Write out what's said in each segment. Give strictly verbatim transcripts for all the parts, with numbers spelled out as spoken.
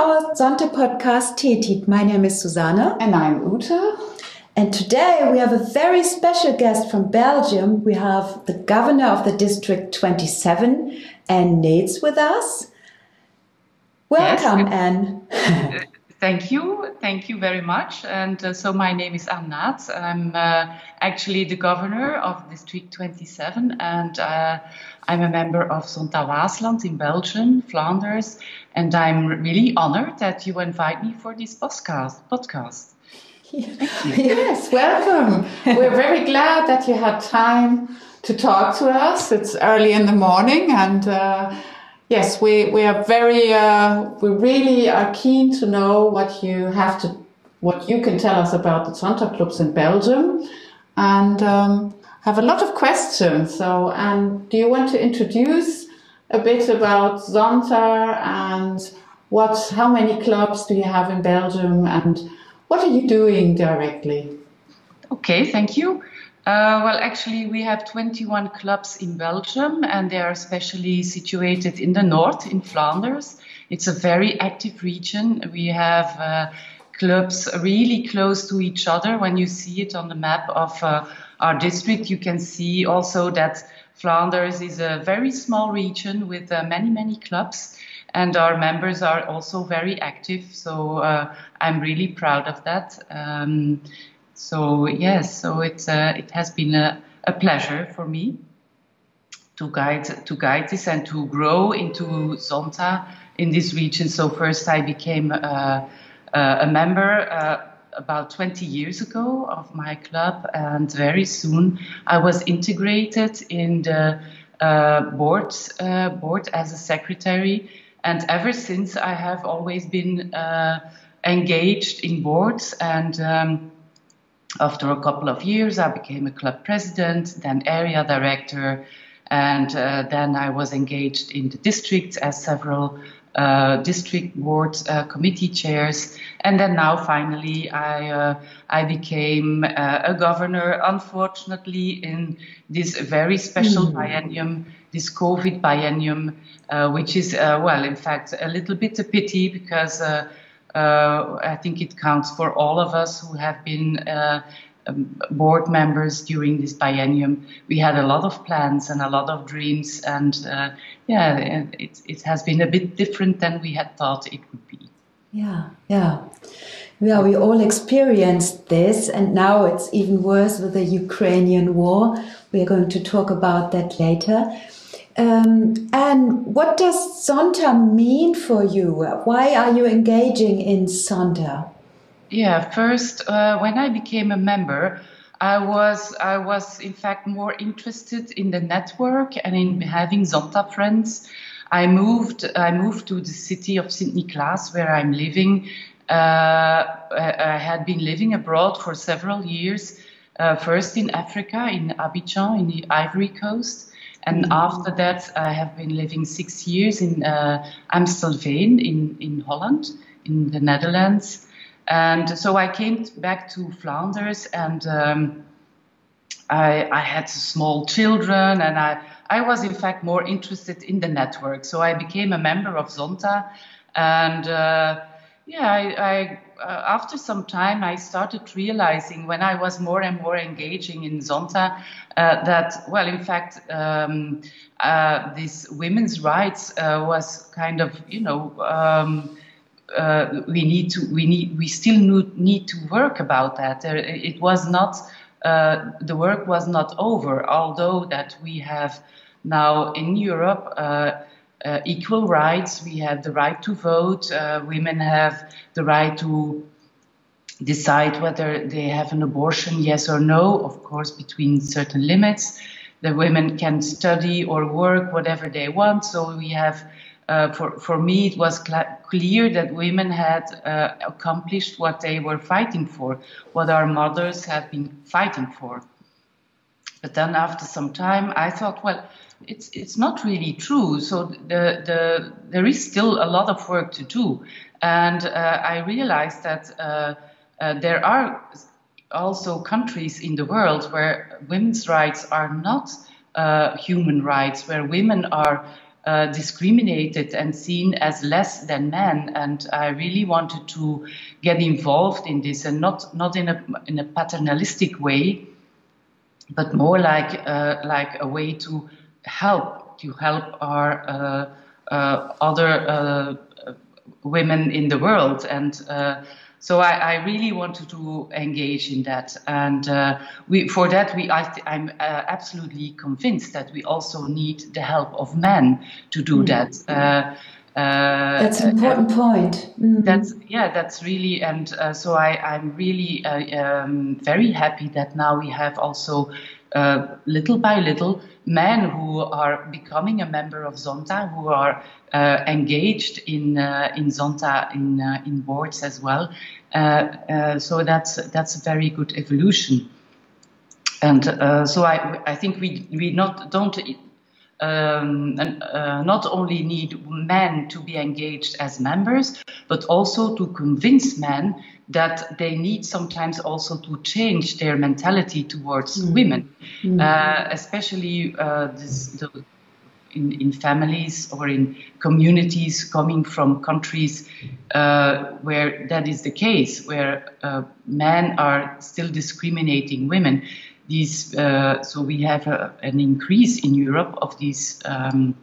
our Zonta podcast Teetit. My name is Susanne. And I'm Ute. And today we have a very special guest from Belgium. We have the governor of the District twenty-seven, Anne Nates, with us. Welcome, yes. Anne. Thank you. Thank you very much. And uh, so my name is Anne Nates. I'm uh, actually the governor of District twenty-seven, and uh, I'm a member of Zonta Waasland in Belgium, Flanders. And I'm really honored that you invite me for this podcast. podcast. Yes, welcome. We're very glad that you had time to talk to us. It's early in the morning, and uh, yes, we, we are very, uh, we really are keen to know what you have to, what you can tell us about the Zonta clubs in Belgium, and um, have a lot of questions. So, and do you want to introduce a bit about Zonta and what, how many clubs do you have in Belgium, and what are you doing directly? Okay, thank you. Uh, well, actually, we have twenty-one clubs in Belgium, and they are especially situated in the north, in Flanders. It's a very active region. We have uh, clubs really close to each other. When you see it on the map of uh, our district, you can see also that Flanders is a very small region with uh, many, many clubs. And our members are also very active, so uh, I'm really proud of that. Um, so yes, so it's uh, it has been a, a pleasure for me to guide to guide this and to grow into Zonta in this region. So first, I became uh, uh, a member uh, about twenty years ago of my club, and very soon I was integrated in the uh, board uh, board as a secretary. And ever since, I have always been uh, engaged in boards. And um, after a couple of years, I became a club president, then area director. And uh, then I was engaged in the district as several uh, district board uh, committee chairs. And then now, finally, I, uh, I became uh, a governor, unfortunately, in this very special mm. biennium, this COVID biennium, uh, which is, uh, well, in fact, a little bit a pity, because uh, uh, I think it counts for all of us who have been uh, um, board members during this biennium. We had a lot of plans and a lot of dreams, and uh, yeah, it, it has been a bit different than we had thought it would be. Yeah, yeah. Yeah, we all experienced this, and now it's even worse with the Ukrainian war. We are going to talk about that later. Um, and what does Zonta mean for you? Why are you engaging in Zonta? Yeah, first, uh, when I became a member, I was, I was in fact more interested in the network and in having Zonta friends. I moved, I moved to the city of Sint-Niklaas, where I'm living. Uh, I had been living abroad for several years, uh, first in Africa, in Abidjan, in the Ivory Coast. And mm-hmm. after that, I have been living six years in uh, Amstelveen in, in Holland, in the Netherlands. And so I came back to Flanders, and um, I, I had small children, and I, I was in fact more interested in the network. So I became a member of Zonta, and uh, yeah, I, I uh, after some time I started realizing, when I was more and more engaging in Zonta, uh, that, well, in fact, um, uh, this women's rights uh, was kind of, you know, um, uh, we need to, we need, we still need to work about that. Uh, it was not, uh, the work was not over, although that we have now in Europe uh, Uh, equal rights. We have the right to vote. Uh, women have the right to decide whether they have an abortion, yes or no, of course, between certain limits. The women can study or work whatever they want. So we have, uh, for, for me, it was cl- clear that women had uh, accomplished what they were fighting for, what our mothers have been fighting for. But then after some time, I thought, well, it's it's not really true. So the the there is still a lot of work to do, and uh, I realized that uh, uh, there are also countries in the world where women's rights are not uh, human rights, where women are uh, discriminated and seen as less than men. And I really wanted to get involved in this, and not not in a in a paternalistic way, but more like uh, like a way to help to help our uh, uh, other uh, women in the world. And uh, so I, I really wanted to engage in that, and uh, we for that we I th- I'm uh, absolutely convinced that we also need the help of men to do mm. that. Uh, Uh, that's an important uh, point. Mm. That's yeah, that's really, and uh, so I, I'm really uh, um, very happy that now we have also uh, little by little men who are becoming a member of Zonta, who are uh, engaged in uh, in Zonta in uh, in boards as well. Uh, uh, so that's that's a very good evolution, and uh, so I I think we we not don't. Um, and, uh, not only need men to be engaged as members, but also to convince men that they need sometimes also to change their mentality towards mm. women, mm. Uh, especially uh, this, the, in, in families or in communities coming from countries uh, where that is the case, where uh, men are still discriminating women. These, uh, so we have a, an increase in Europe of these um,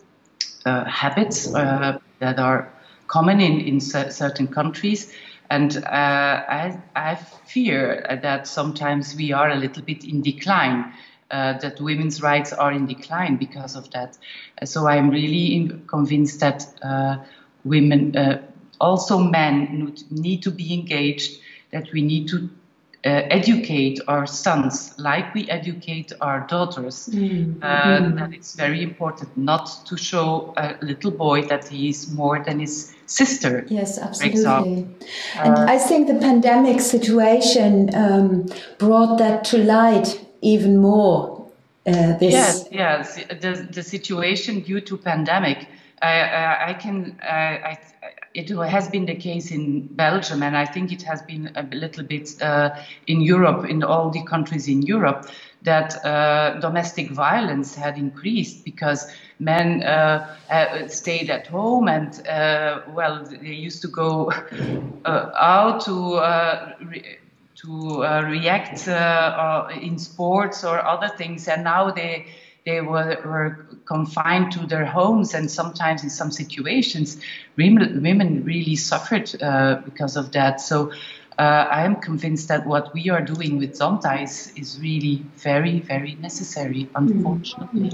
uh, habits uh, that are common in, in certain countries. And uh, I, I fear that sometimes we are a little bit in decline, uh, that women's rights are in decline because of that. So I'm really convinced that uh, women, uh, also men, need to be engaged, that we need to Uh, educate our sons like we educate our daughters. Mm. Uh, mm. That it's very important not to show a little boy that he is more than his sister. Yes, absolutely. And uh, I think the pandemic situation um, brought that to light even more. Uh, this yes, yes. The, the situation due to pandemic, I, I, I can, I, I it has been the case in Belgium, and I think it has been a little bit uh, in Europe, in all the countries in Europe, that uh, domestic violence had increased because men uh, uh, stayed at home and, uh, well, they used to go uh, out to uh, re- to uh, react uh, in sports or other things, and now they They were, were confined to their homes, and sometimes in some situations, women, women really suffered uh, because of that. So uh, I am convinced that what we are doing with Zonta is, is really very, very necessary, unfortunately.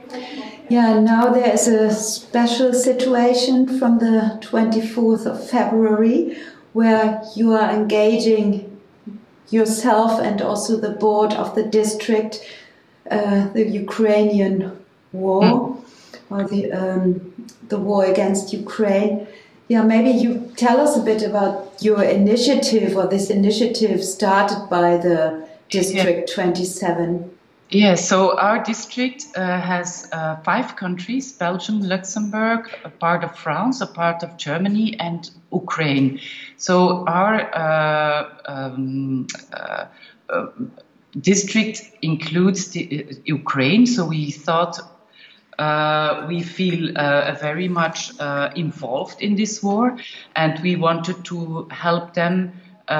Yeah, now there is a special situation from the twenty-fourth of February where you are engaging yourself and also the board of the district, Uh, the Ukrainian war, mm. or the um, the war against Ukraine. Yeah, maybe you tell us a bit about your initiative, or this initiative started by the District yeah. twenty-seven. Yeah, so our district uh, has uh, five countries: Belgium, Luxembourg, a part of France, a part of Germany, and Ukraine. So our uh, um, uh, uh, district includes the, uh, Ukraine, so we thought uh, we feel uh, very much uh, involved in this war, and we wanted to help them uh,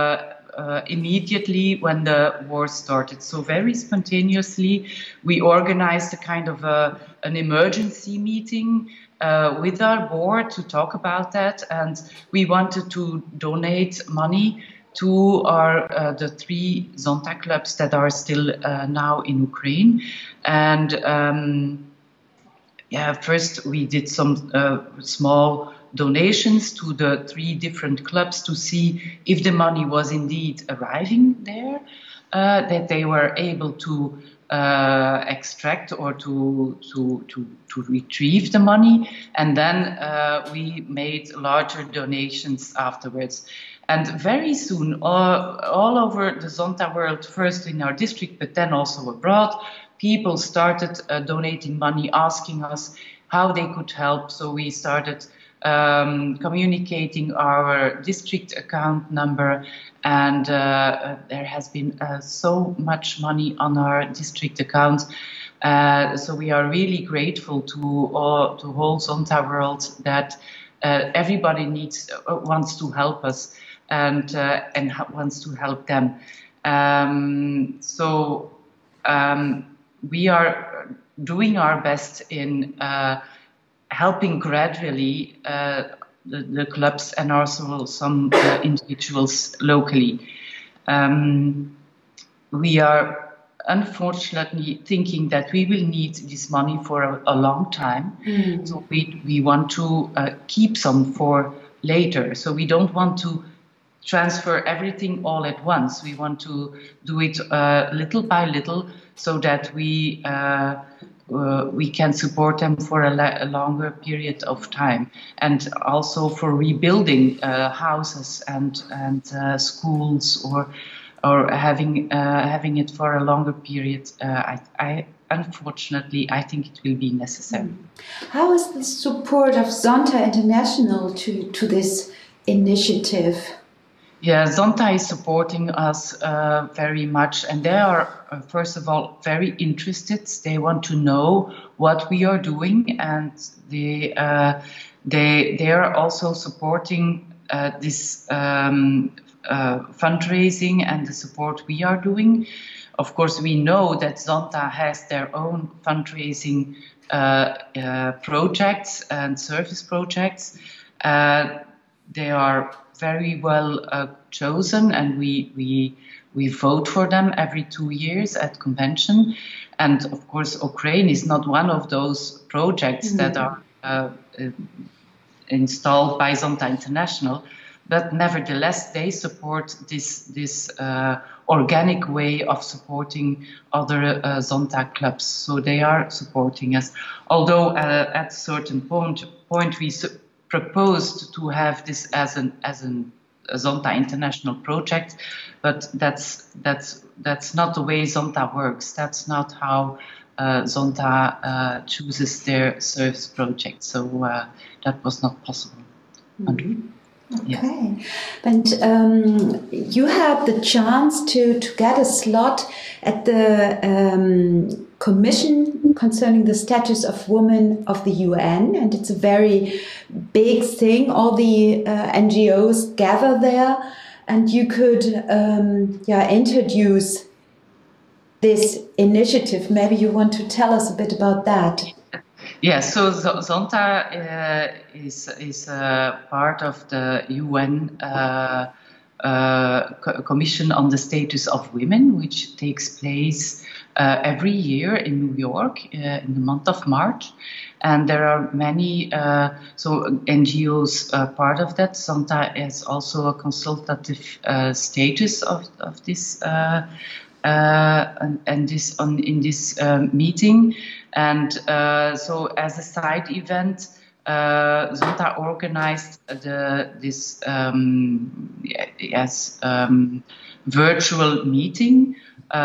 uh, immediately when the war started. So very spontaneously, we organized a kind of a, an emergency meeting uh, with our board to talk about that, and we wanted to donate money to our uh, the three Zonta clubs that are still uh, now in Ukraine. And um, yeah, first we did some uh, small donations to the three different clubs to see if the money was indeed arriving there, uh, that they were able to uh, extract or to, to, to, to retrieve the money. And then uh, we made larger donations afterwards. And very soon, all, all over the Zonta world, first in our district, but then also abroad, people started uh, donating money, asking us how they could help. So we started um, communicating our district account number, and uh, there has been uh, so much money on our district account. Uh, so we are really grateful to uh, to whole Zonta world that uh, everybody needs uh, wants to help us and uh, and wants to help them. Um, so um, we are doing our best in uh, helping gradually uh, the, the clubs and also some uh, individuals locally. Um, we are unfortunately thinking that we will need this money for a, a long time. Mm. So we, we want to uh, keep some for later. So we don't want to transfer everything all at once. We want to do it uh, little by little so that we uh, uh, we can support them for a, la- a longer period of time, and also for rebuilding uh, houses and and uh, schools, or or having uh, having it for a longer period. Uh, I, I unfortunately I think it will be necessary. How is the support of Zonta International to to this initiative? Yeah, Zonta is supporting us uh, very much, and they are, uh, first of all, very interested. They want to know what we are doing, and they uh, they they are also supporting uh, this um, uh, fundraising and the support we are doing. Of course, we know that Zonta has their own fundraising uh, uh, projects and service projects. Uh, they are very well uh, chosen, and we we we vote for them every two years at convention. And of course, Ukraine is not one of those projects mm-hmm. that are uh, uh, installed by Zonta International, but nevertheless they support this this uh, organic way of supporting other uh, Zonta clubs. So they are supporting us. Although uh, at a certain point point we su- proposed to have this as an as an a Zonta International project, but that's that's that's not the way Zonta works. That's not how uh, Zonta uh, chooses their service project. So uh, that was not possible. Mm-hmm. Okay, yes. And um, you had the chance to, to get a slot at the um, Commission concerning the status of women of the U N, and it's a very big thing. All the uh, N G Os gather there, and you could um, yeah, introduce this initiative. Maybe you want to tell us a bit about that. Yeah, so Zonta uh, is is uh, part of the U N uh, uh, Commission on the Status of Women, which takes place uh, every year in New York uh, in the month of March. And there are many uh, so N G Os are part of that. Zonta is also a consultative uh, status of of this uh, uh, and, and this on in this uh, meeting. And uh, so, as a side event, uh, Zonta organized the this um, yes um, virtual meeting,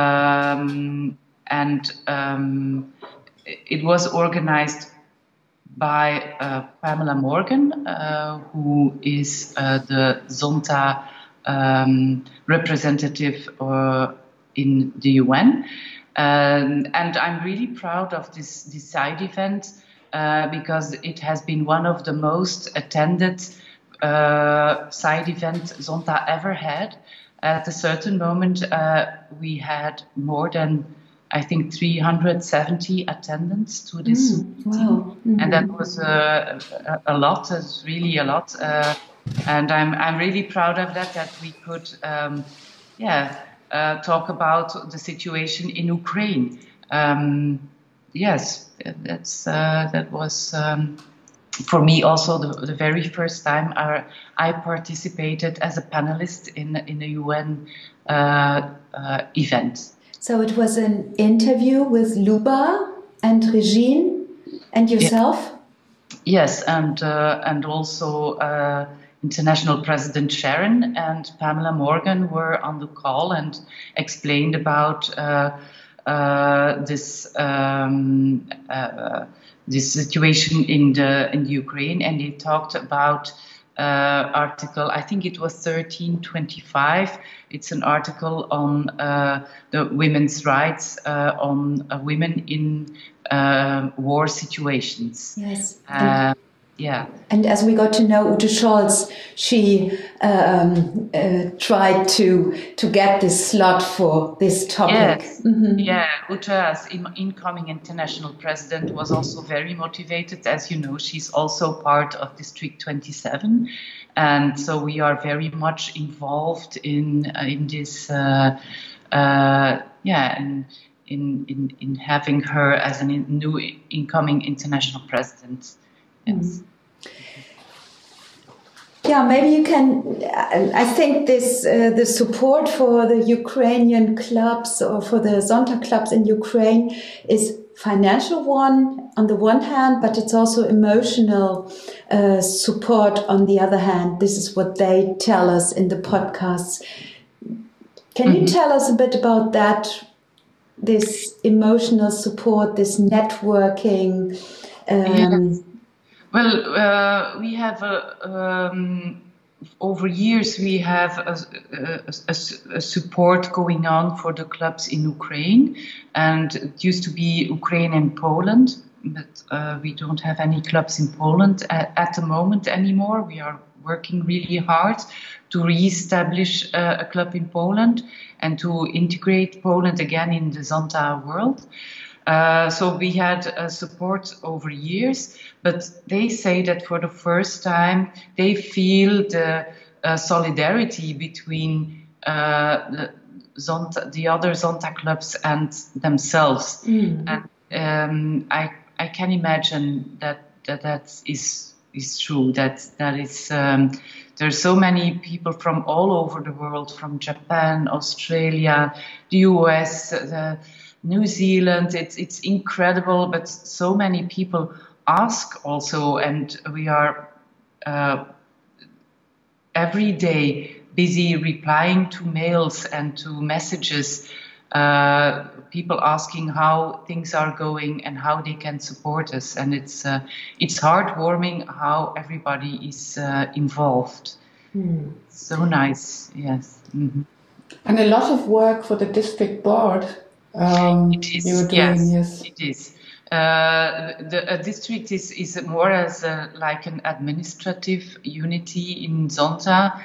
um, and um, it was organized by uh, Pamela Morgan, uh, who is uh, the Zonta um, representative uh, in the U N. Um, and I'm really proud of this, this side event uh, because it has been one of the most attended uh, side events Zonta ever had. At a certain moment, uh, we had more than, I think, three hundred seventy attendants to this mm, meeting. Wow. Mm-hmm. And that was uh, a, a lot, it's really a lot. Uh, and I'm, I'm really proud of that, that we could, um, yeah, Uh, talk about the situation in Ukraine. Um, yes, that's uh, that was um, for me also the, the very first time I, I participated as a panelist in in a U N uh, uh, event. So it was an interview with Luba and Regine and yourself. Yeah. Yes, and uh, and also. Uh, International President Sharon and Pamela Morgan were on the call and explained about uh, uh, this um, uh, this situation in the in the Ukraine, and they talked about uh, article. I think it was thirteen twenty-five. It's an article on uh, the women's rights uh, on uh, women in uh, war situations. Yes. Uh, yeah. And as we got to know Ute Scholz, she um, uh, tried to to get this slot for this topic. Yes. Mm-hmm. Yeah, Ute, as in, incoming international president, was also very motivated. As you know, she's also part of District twenty-seven, and so we are very much involved in uh, in this. Uh, uh, yeah, and in, in in having her as a new incoming international president. Yes. Yeah, maybe you can. I think this uh, the support for the Ukrainian clubs or for the Zonta clubs in Ukraine is financial one on the one hand, but it's also emotional uh, support on the other hand. This is what they tell us in the podcasts. Can mm-hmm. you tell us a bit about that? This emotional support, this networking. Um, yes. Well, uh, we have a, um, over years we have a, a, a, a support going on for the clubs in Ukraine, and it used to be Ukraine and Poland, but uh, we don't have any clubs in Poland at, at the moment anymore. We are working really hard to re-establish uh, a club in Poland and to integrate Poland again in the Zonta world. Uh, so we had uh, support over years, but they say that for the first time they feel the uh, solidarity between uh, the, Zonta, the other Zonta clubs and themselves. Mm. And um, I I can imagine that that, that is is true. That that is um, there are so many people from all over the world, from Japan, Australia, the U S, the New Zealand. It's it's incredible, but so many people ask also, and we are uh, every day busy replying to mails and to messages. Uh, people asking how things are going and how they can support us, and it's uh, it's heartwarming how everybody is uh, involved. Mm. So nice, yes. Mm-hmm. And a lot of work for the district board. Um, it is, you're doing, yes, yes, it is. Uh, the a district is, is more as a, like an administrative unity in Zonta.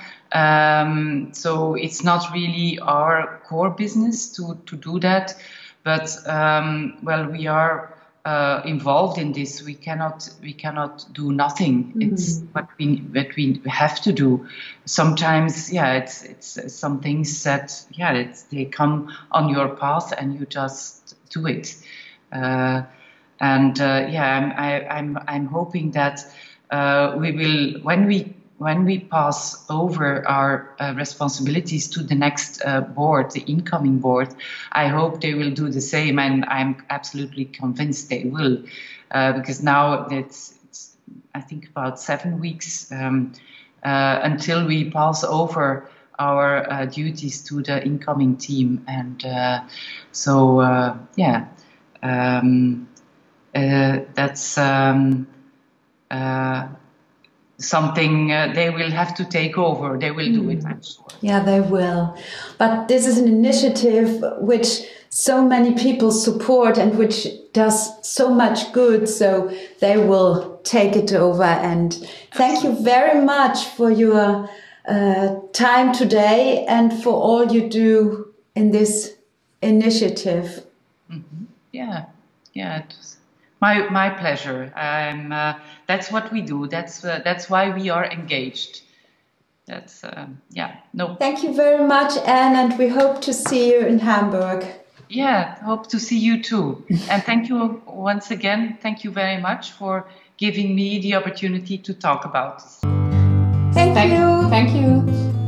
Um, so it's not really our core business to, to do that. But, um, well, we are uh, involved in this. We cannot we cannot do nothing. Mm-hmm. It's what we what we have to do. Sometimes, yeah, it's it's some things that yeah, it's, they come on your path and you just do it. Uh, and uh, yeah, I'm I, I'm I'm hoping that uh, we will when we. When we pass over our uh, responsibilities to the next uh, board, the incoming board, I hope they will do the same, and I'm absolutely convinced they will, uh, because now it's, it's, I think, about seven weeks um, uh, until we pass over our uh, duties to the incoming team, and uh, so uh, yeah, um, uh, that's. Um, uh, something uh, they will have to take over. They will do it, I'm sure. Yeah, they will. But this is an initiative which so many people support and which does so much good, so they will take it over. And thank you very much for your uh, time today and for all you do in this initiative. Mm-hmm. Yeah, yeah, it was My my pleasure. Um, uh, that's what we do. That's uh, that's why we are engaged. That's uh, yeah. No. Thank you very much, Anne, and we hope to see you in Hamburg. Yeah, hope to see you too. And thank you once again. Thank you very much for giving me the opportunity to talk about this. Thank, thank you. Thank you.